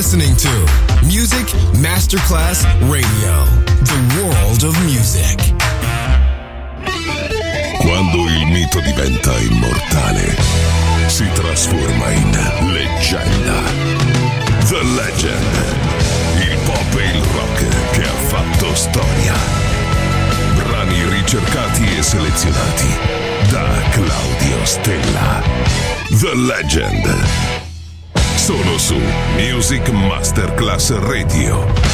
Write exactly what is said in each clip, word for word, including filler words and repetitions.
listening to Music Masterclass Radio, the world of music. Quando il mito diventa immortale, si trasforma in leggenda. The Legend, il pop e il rock che ha fatto storia. Brani ricercati e selezionati da Claudio Stella. The Legend. Solo su Music Masterclass Radio.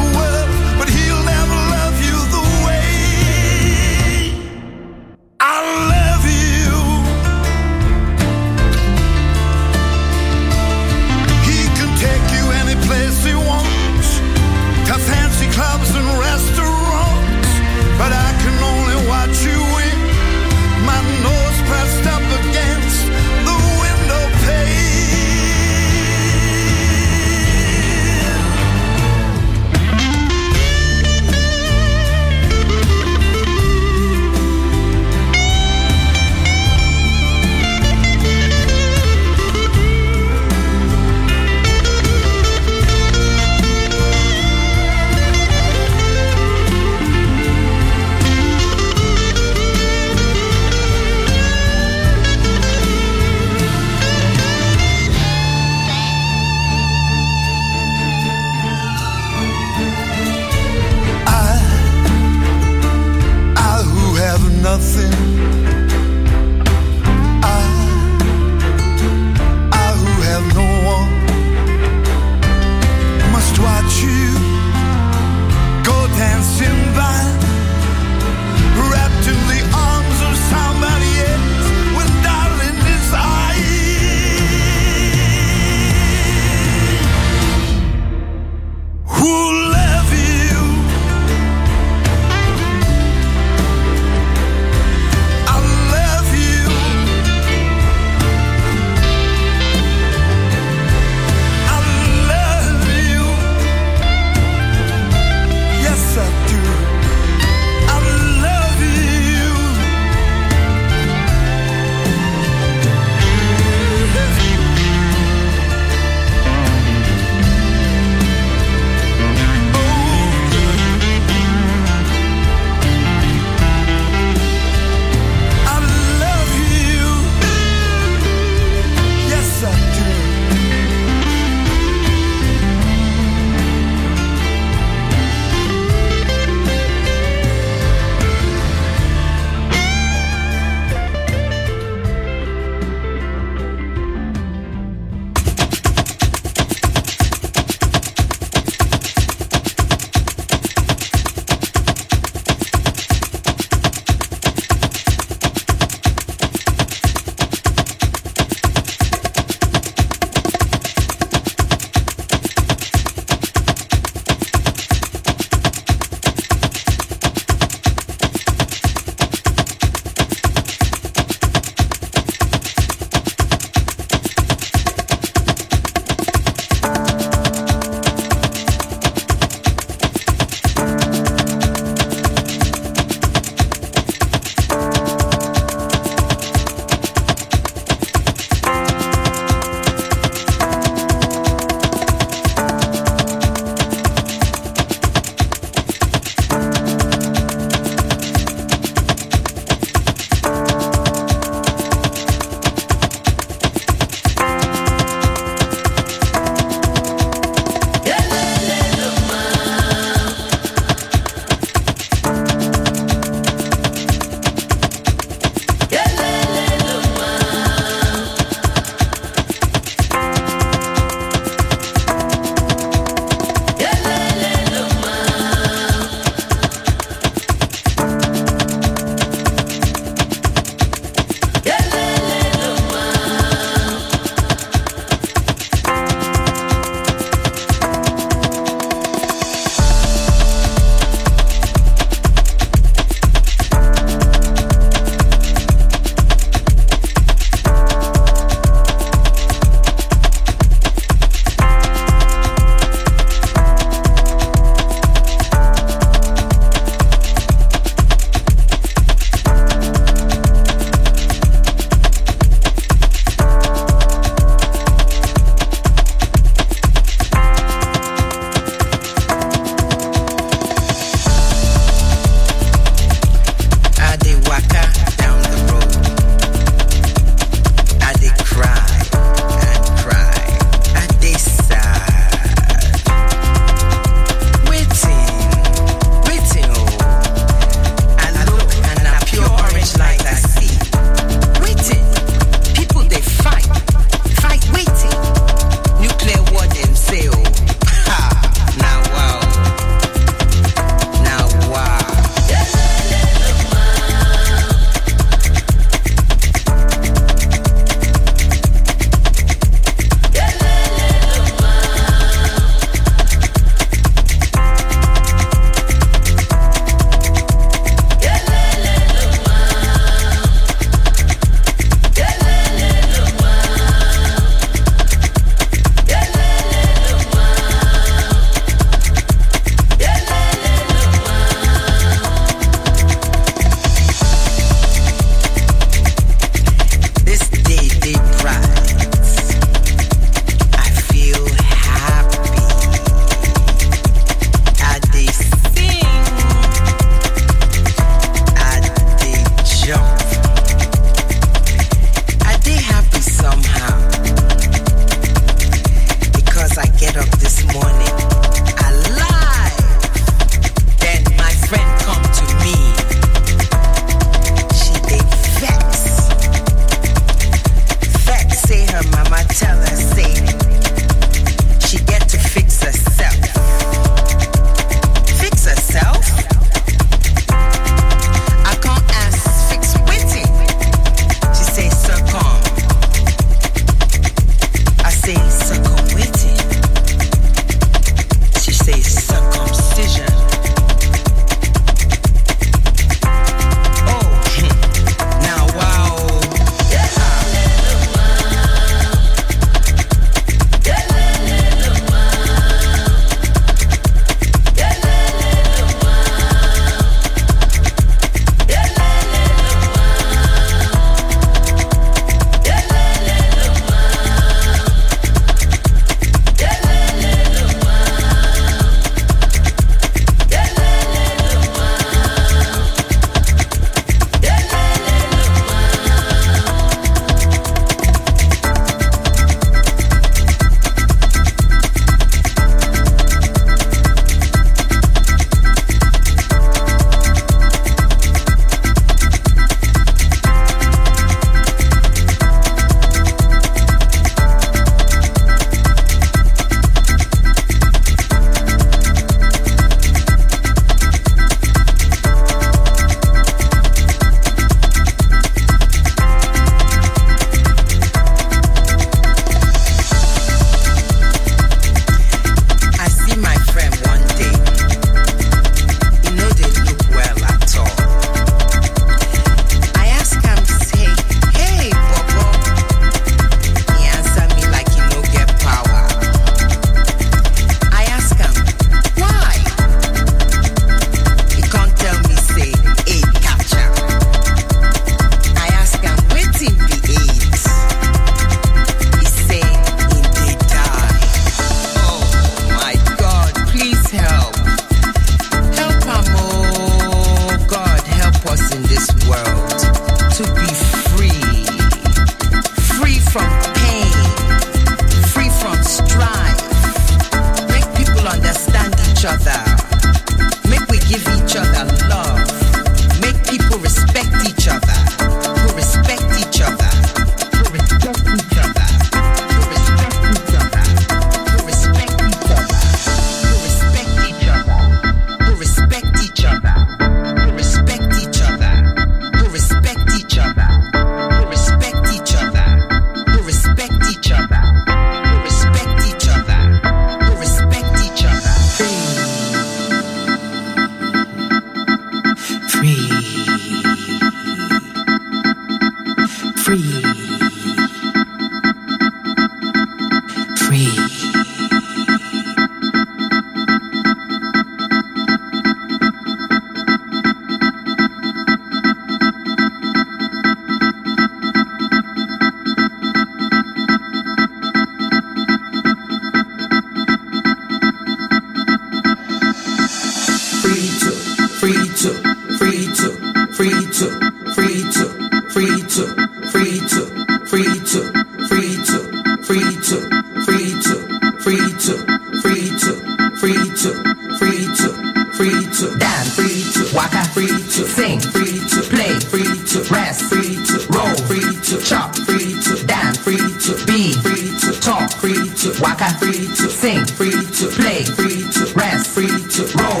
to, free to, free to, free to, free to, free to, free to, free to, free to, free to, free to, free to, free to, free to, free to, dance, free to, waka, free to, sing, free to, play, free to, rest, free to, roll, free to, chop, free to, dance, free to, be, free to, talk, free to, waka, free to, sing, free to, play, free to, rest, free to, roll.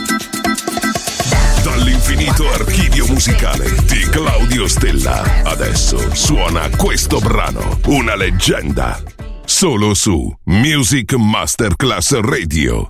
Dall'infinito archivio musicale di Claudio Stella, adesso suona questo brano, una leggenda, solo su Music Masterclass Radio.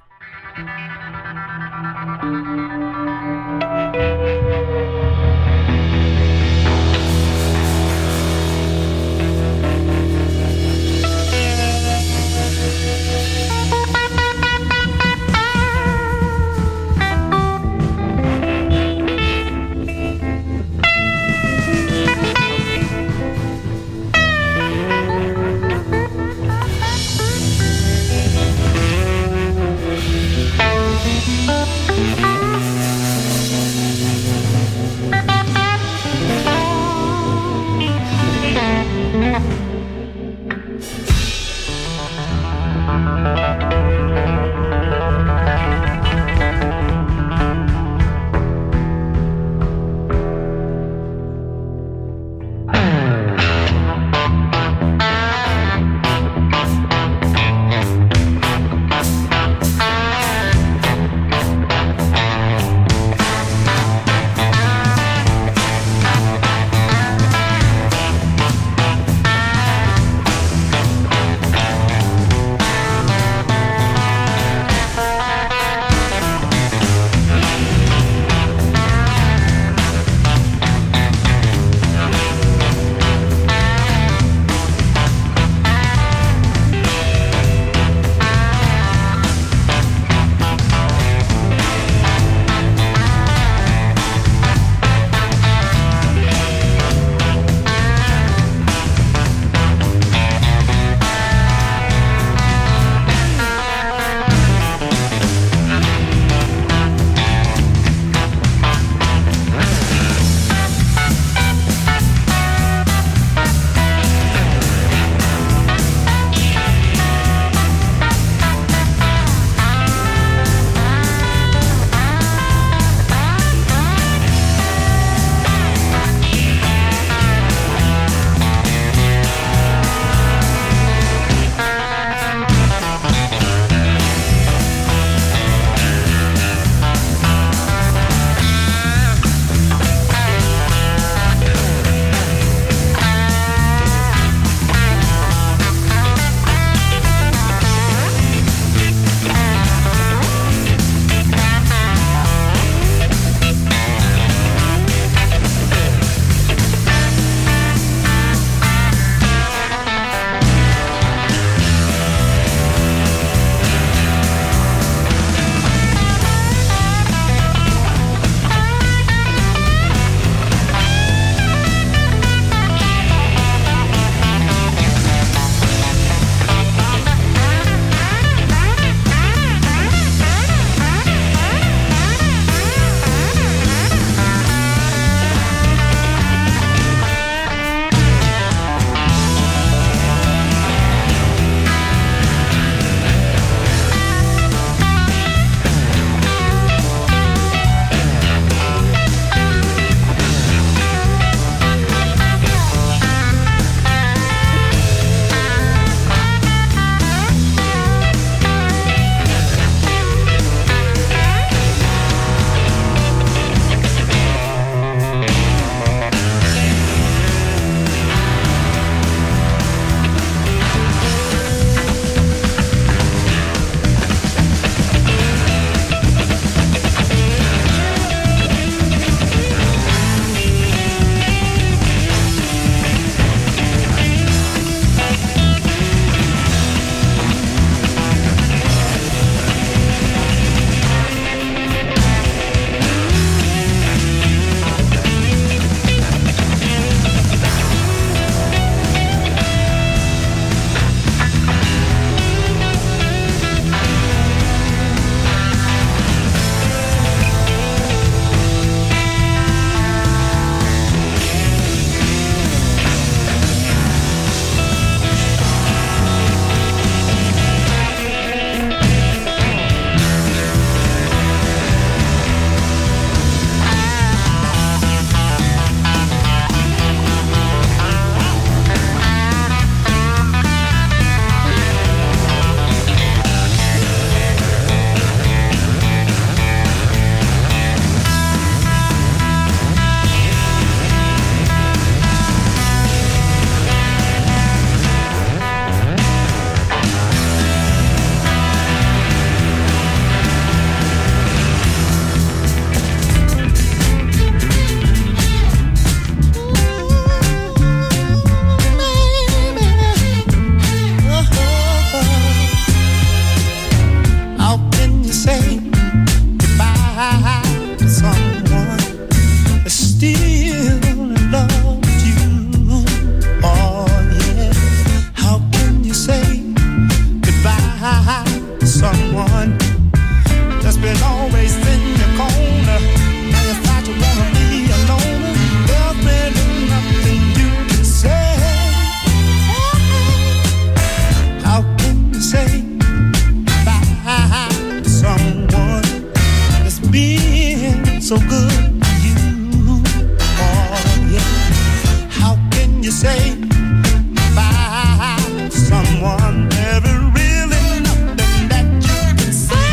been so good to you. Oh, yeah. How can you say bye to someone never really nothing that you can say?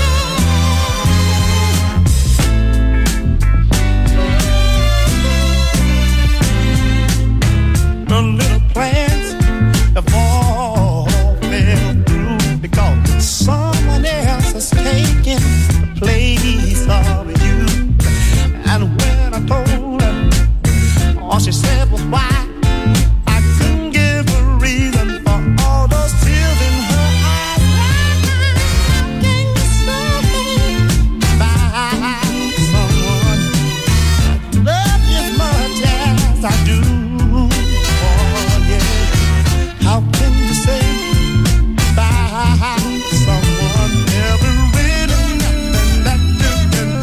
The little plans have all fell through because someone else has taken the place of you. And when I told her, all she said was why. I couldn't give a reason for all those tears in her eyes. How can you say bye to someone I love you as much as I do? Oh yeah. How can you say bye to someone never really nothing that you can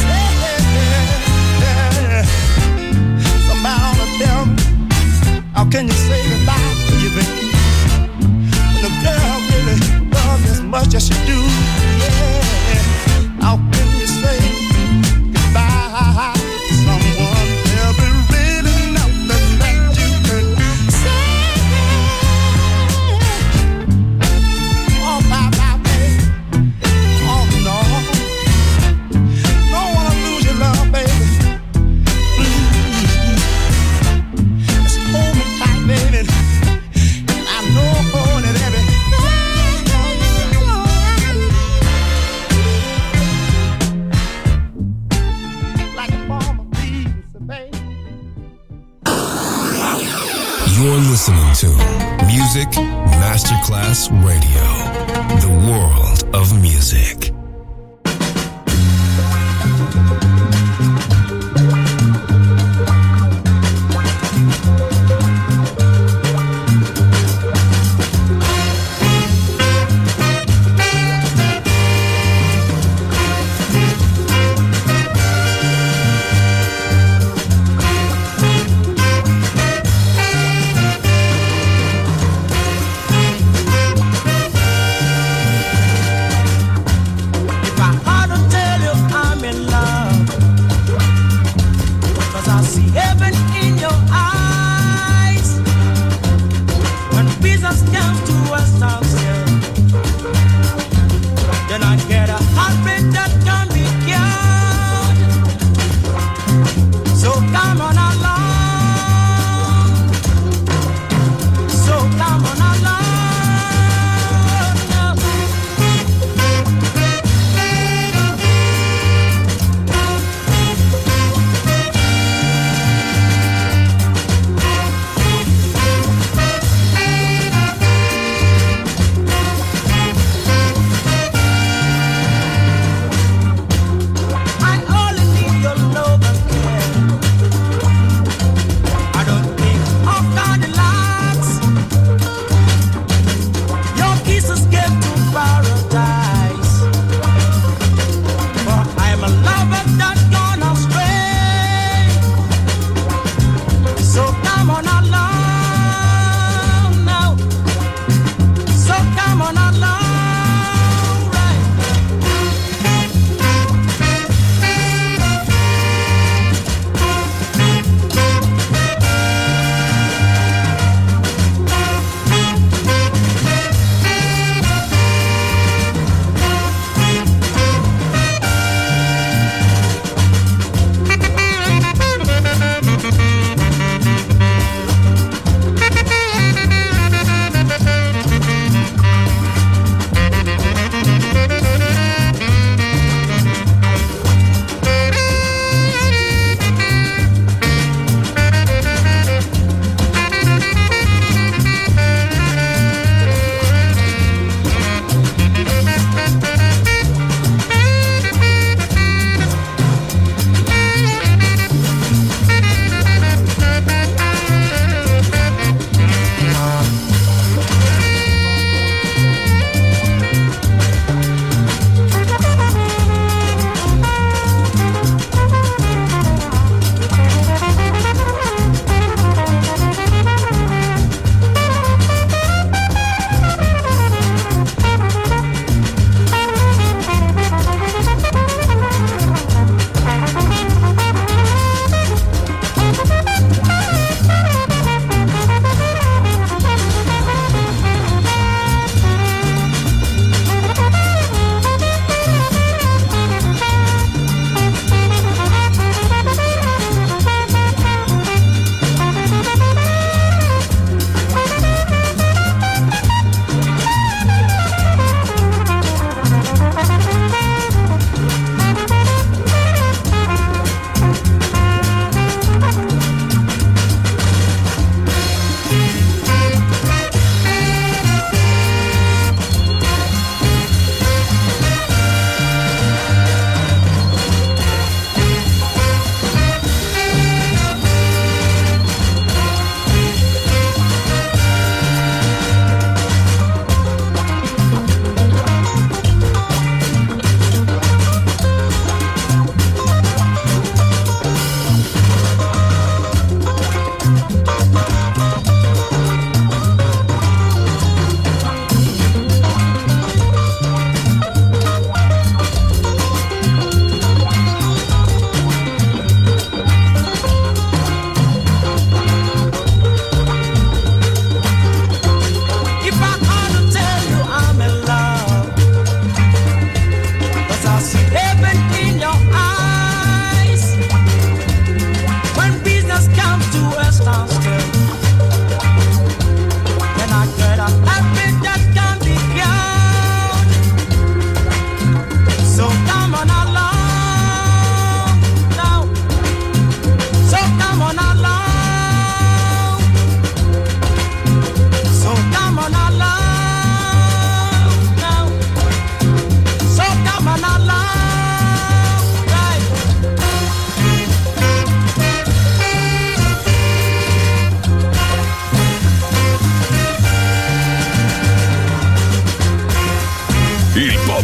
say? Somebody tell me, how can you say goodbye to you, baby? When the girl really loves you as much as she do, yeah. How can you say goodbye to someone never really nothing that you can say? Oh, bye, bye, baby. Oh, no. Don't wanna lose your love, baby. Please. Just hold me tight, baby. And I know that every like a bomb of bees, baby. You're listening to Music Masterclass Radio, the world of music.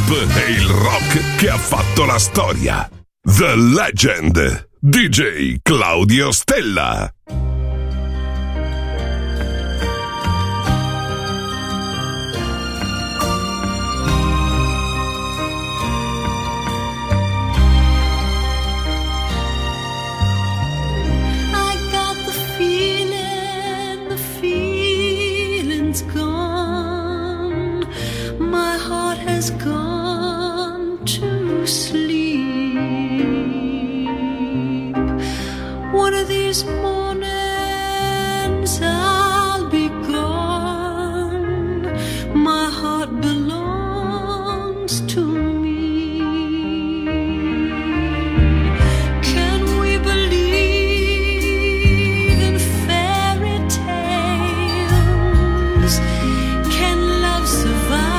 pop e il rock che ha fatto la storia. The Legend, D J Claudio Stella. Gone to sleep. One of these mornings I'll be gone. My heart belongs to me. Can we believe in fairy tales? Can love survive?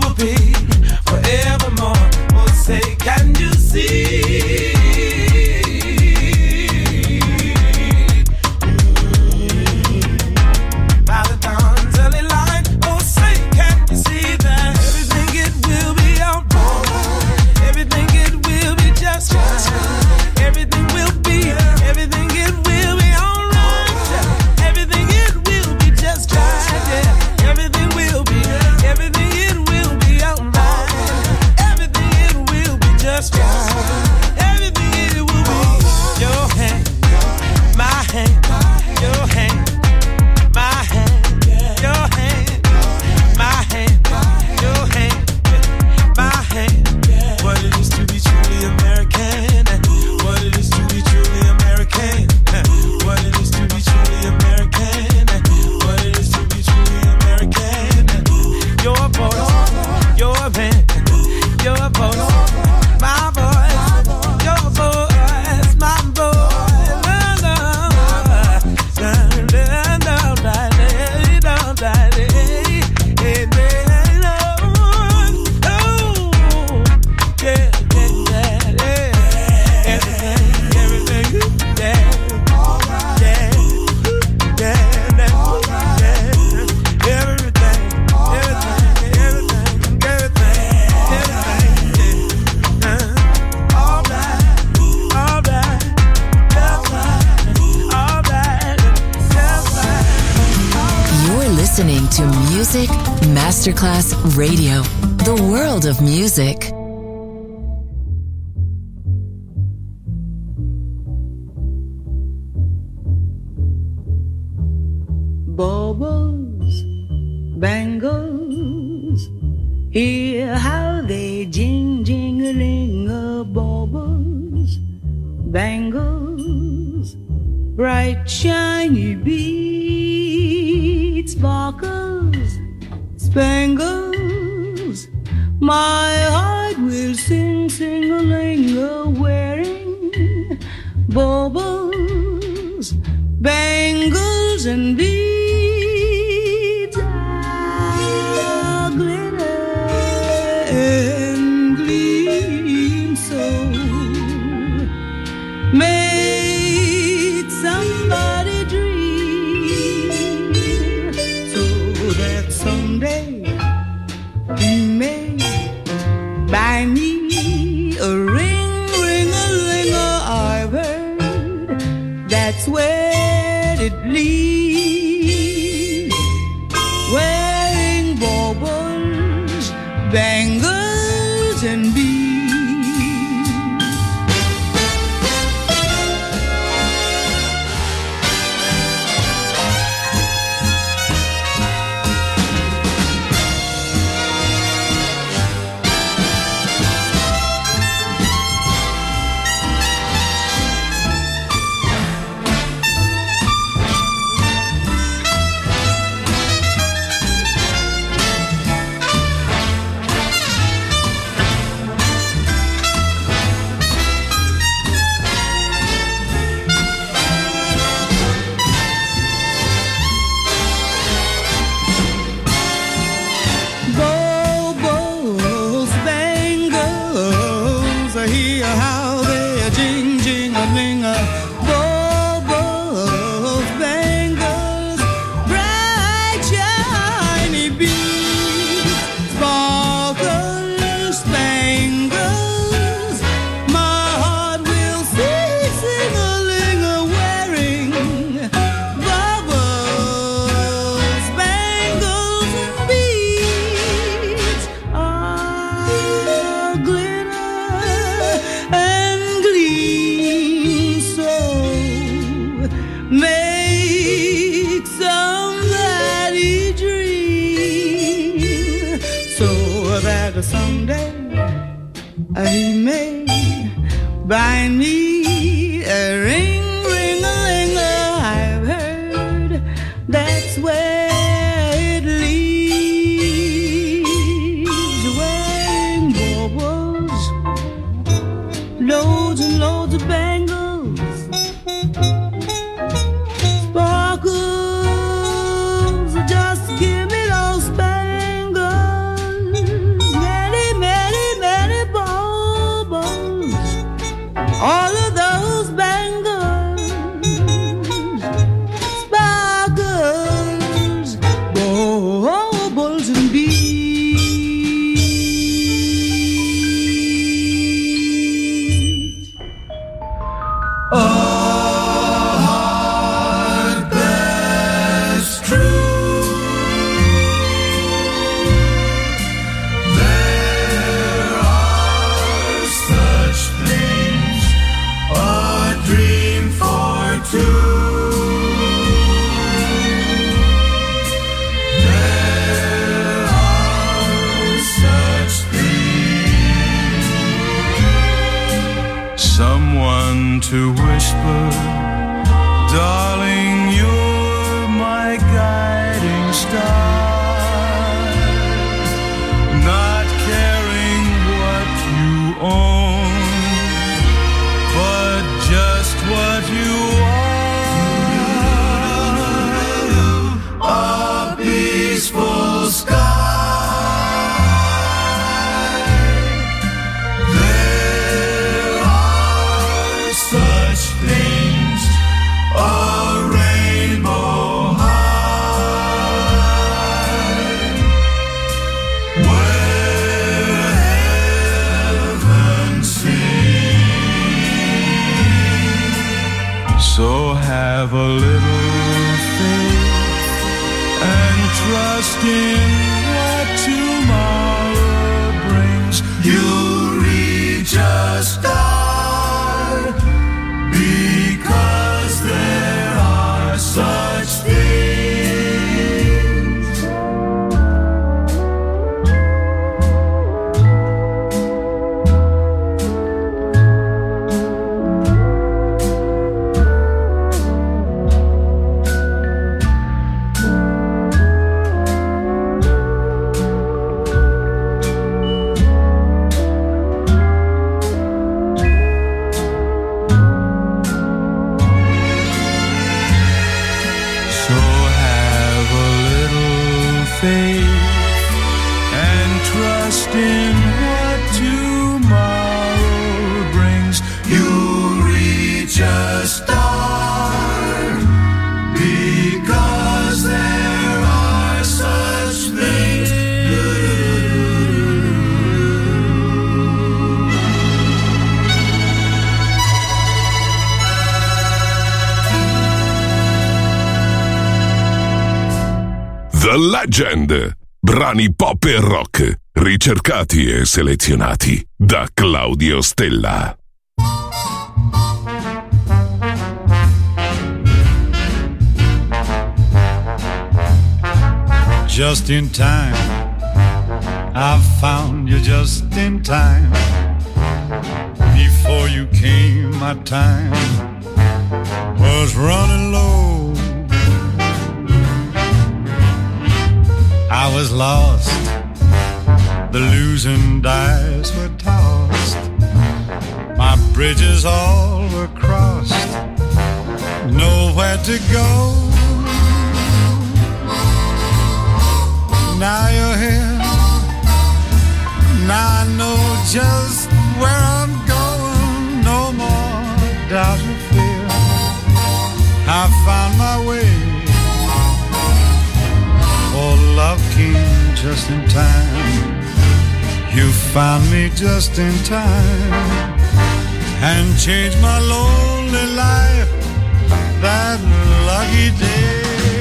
Forevermore, oh say, can you see? to Music Masterclass Radio, the world of music. Baubles, bangles, hear how they jing jingling a baubles, bangles, bright shiny beads, sparkles, spangles. My heart will sing, sing-a-ling-a, wearing baubles, bangles, and beads. Ah, glitter and gleam so. Made somebody dream so that someday he may buy me a ring, ring-a-ling-a. I've heard that's where it leads, wearing baubles, bangles, and beads. He may buy me a ring, ring-a-ling-a. I've heard that's where it leads, wearing baubles, loads and loads of bangles, sparkles, just give me those spangles, many, many, many baubles, all of those bangles, sparkles, baubles, and beads. Oh. To whisper, darling, you're my guiding star, not caring what you own, but just what you are, a peaceful sky. So have a little faith and trust in what tomorrow brings. You reach a star because there are such things. The Legend, brani pop e rock, ricercati e selezionati da Claudio Stella. Just in time, I found you just in time. Before you came, my time was running low. I was lost, the losing dice were tossed. My bridges all were crossed, nowhere to go. Now you're here, now I know just where I'm going. No more doubt or fear, I found my way. Oh, love came just in time. You found me just in time and changed my lonely life that lucky day.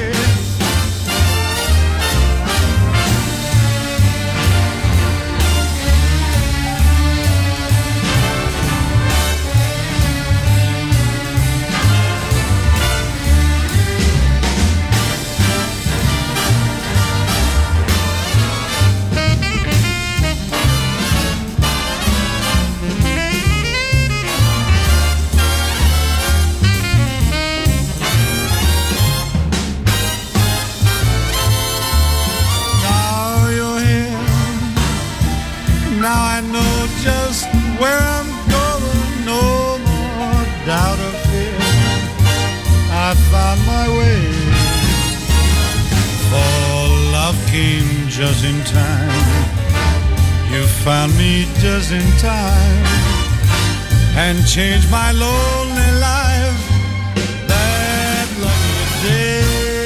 Where I'm going, no more doubt or fear. I found my way. For love came just in time. You found me just in time and changed my lonely life that lucky day.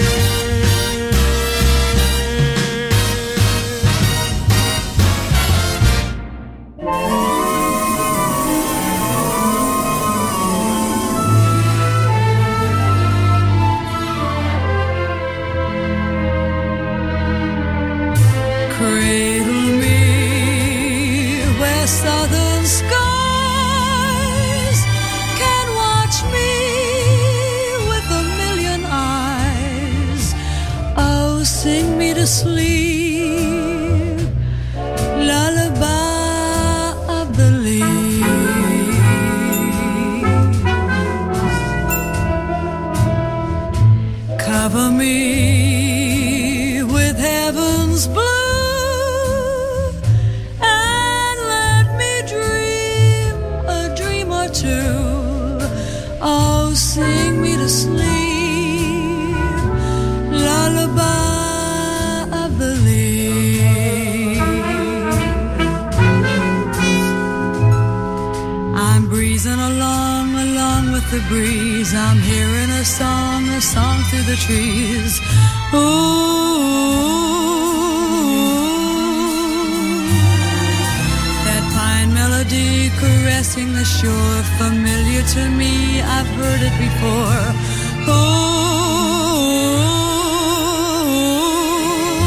Southern skies can watch me with a million eyes. Oh, sing me to sleep, lullaby of the leaves. Cover me with heaven's blue. Oh, sing me to sleep, lullaby of the leaves. I'm breezing along, along with the breeze. I'm hearing a song, a song through the trees. Ooh, melody caressing the shore, familiar to me, I've heard it before. Oh,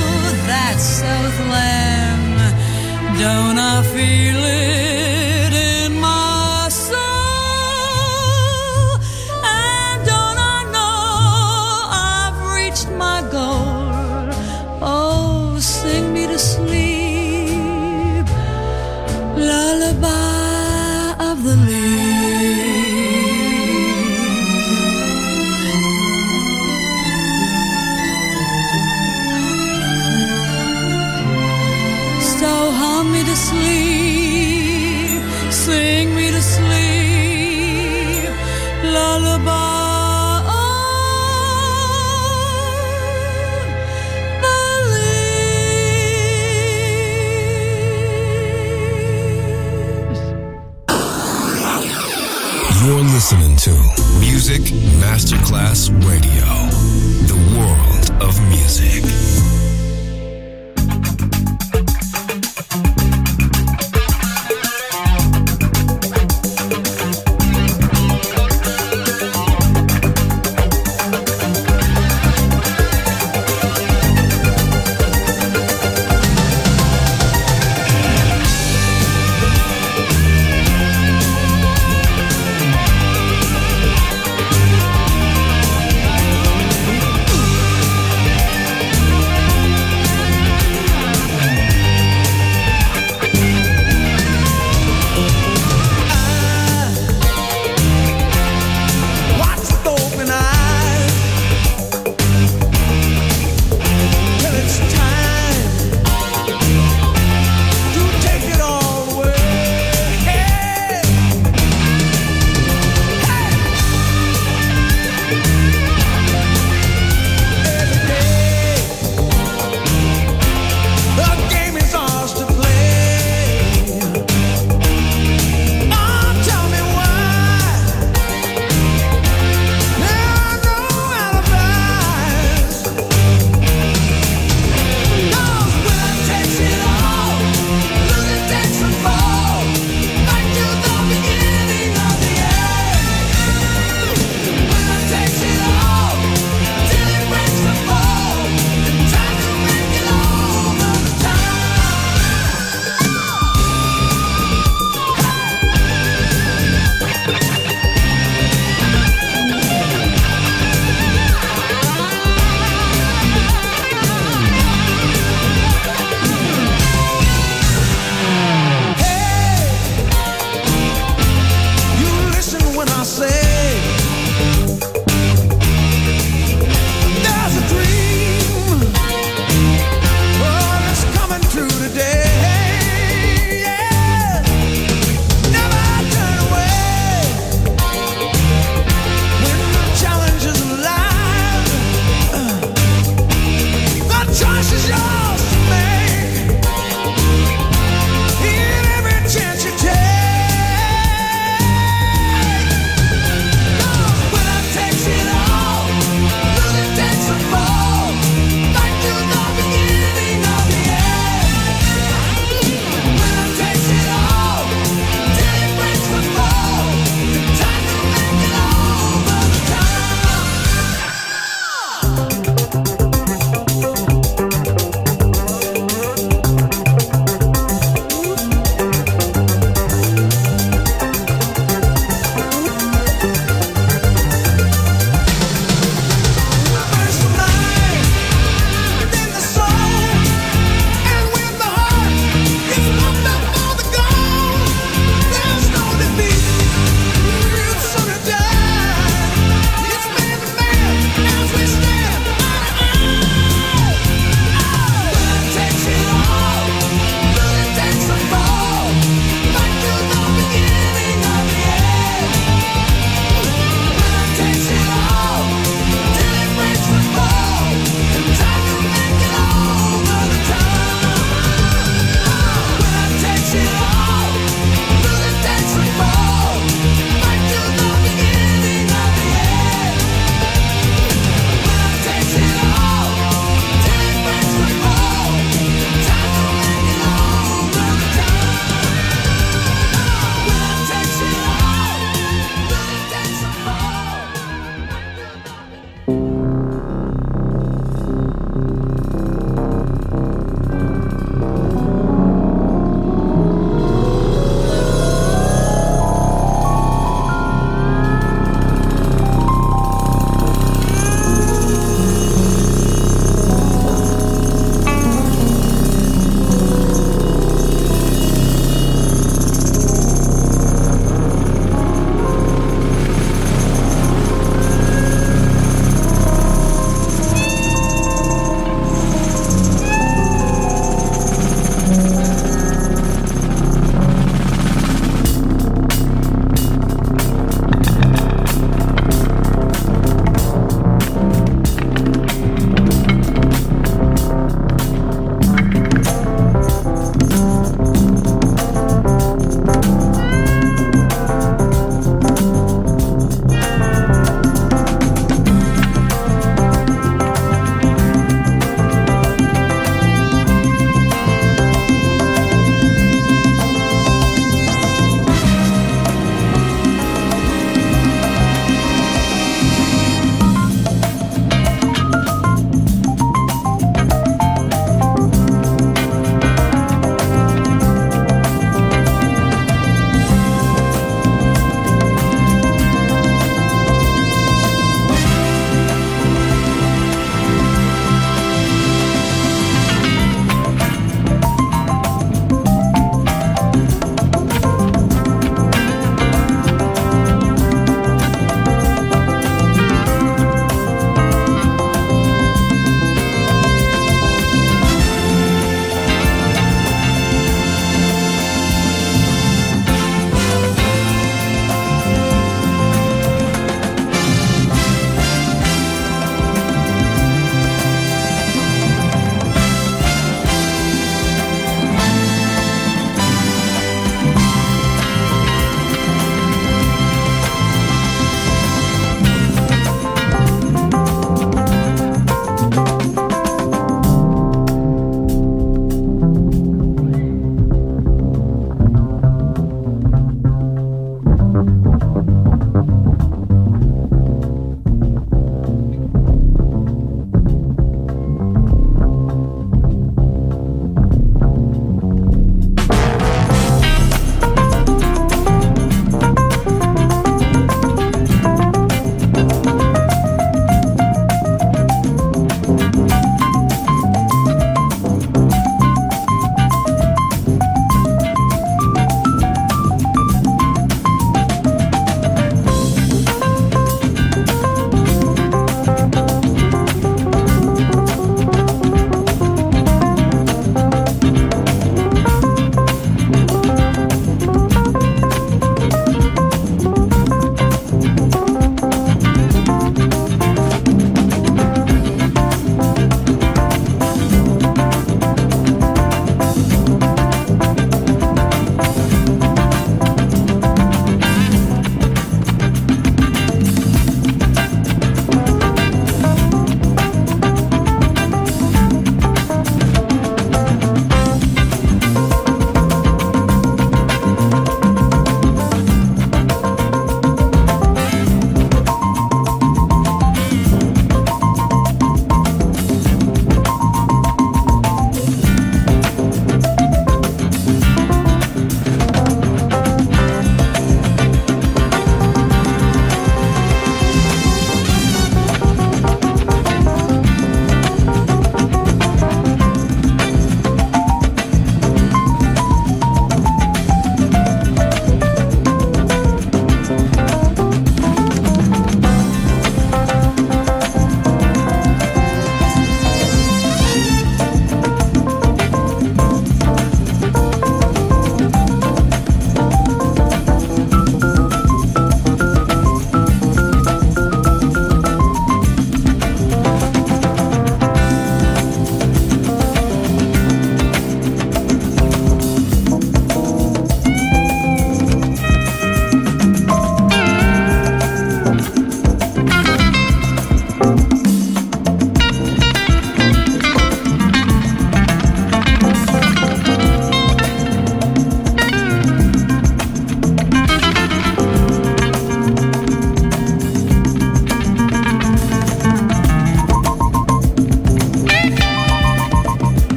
Music Masterclass Radio. The world of music. Thank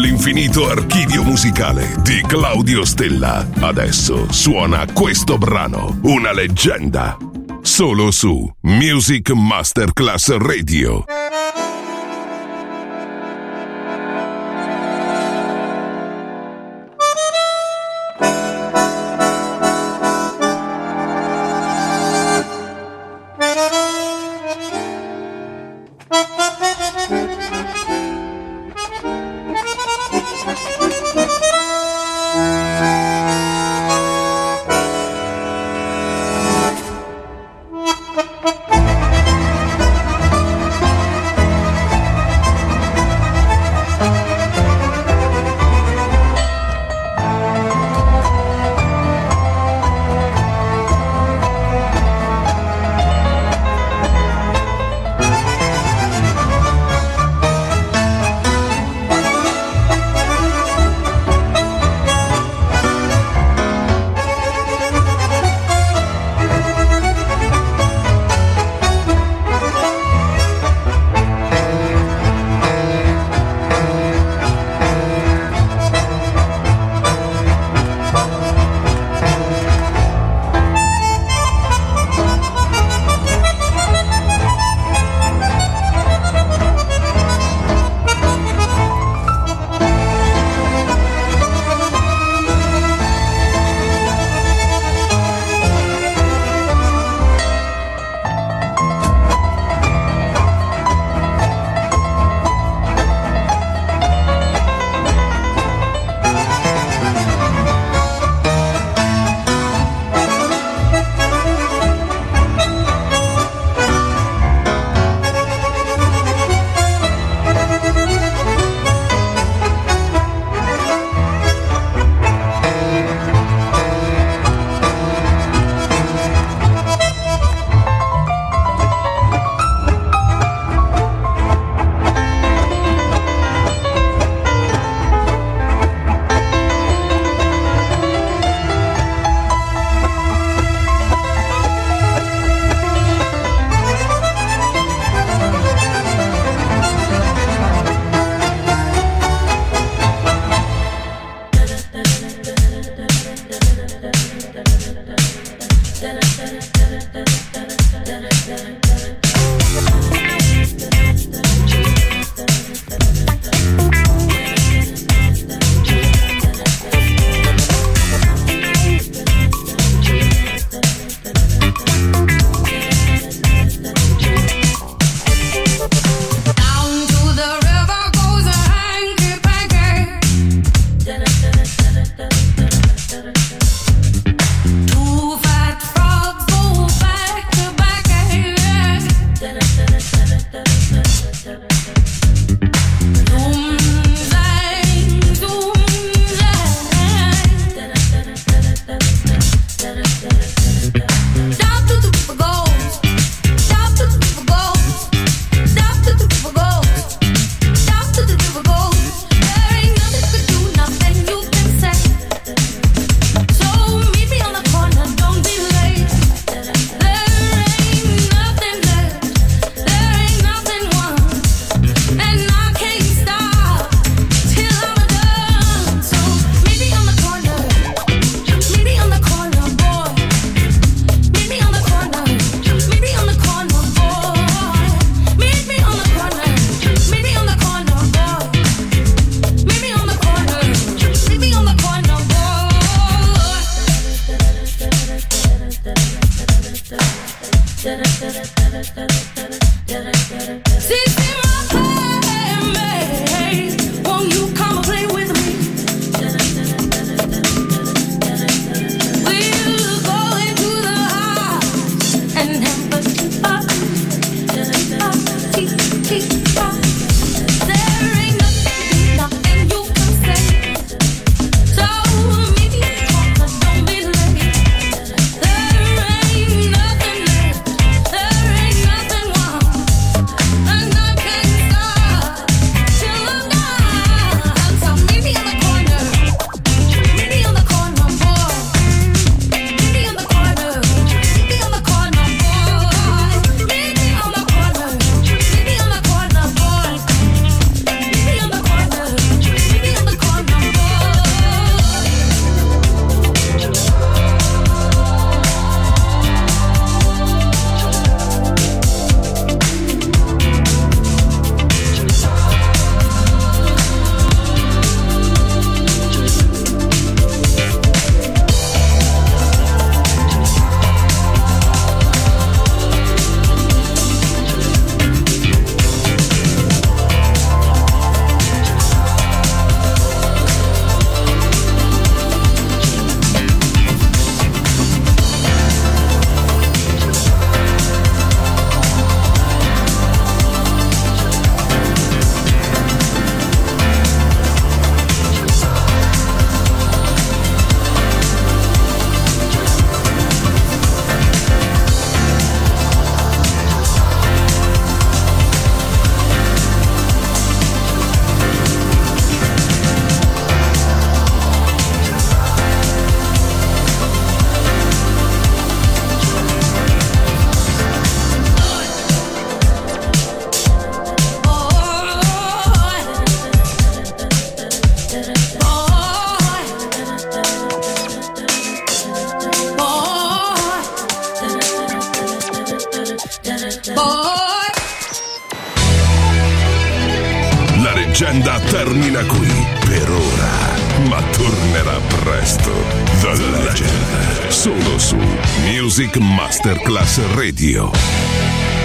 dall'infinito archivio musicale di Claudio Stella. Adesso suona questo brano, una leggenda, solo su Music Masterclass Radio. termina qui per ora, ma tornerà presto. The Legend, solo su Music Masterclass Radio.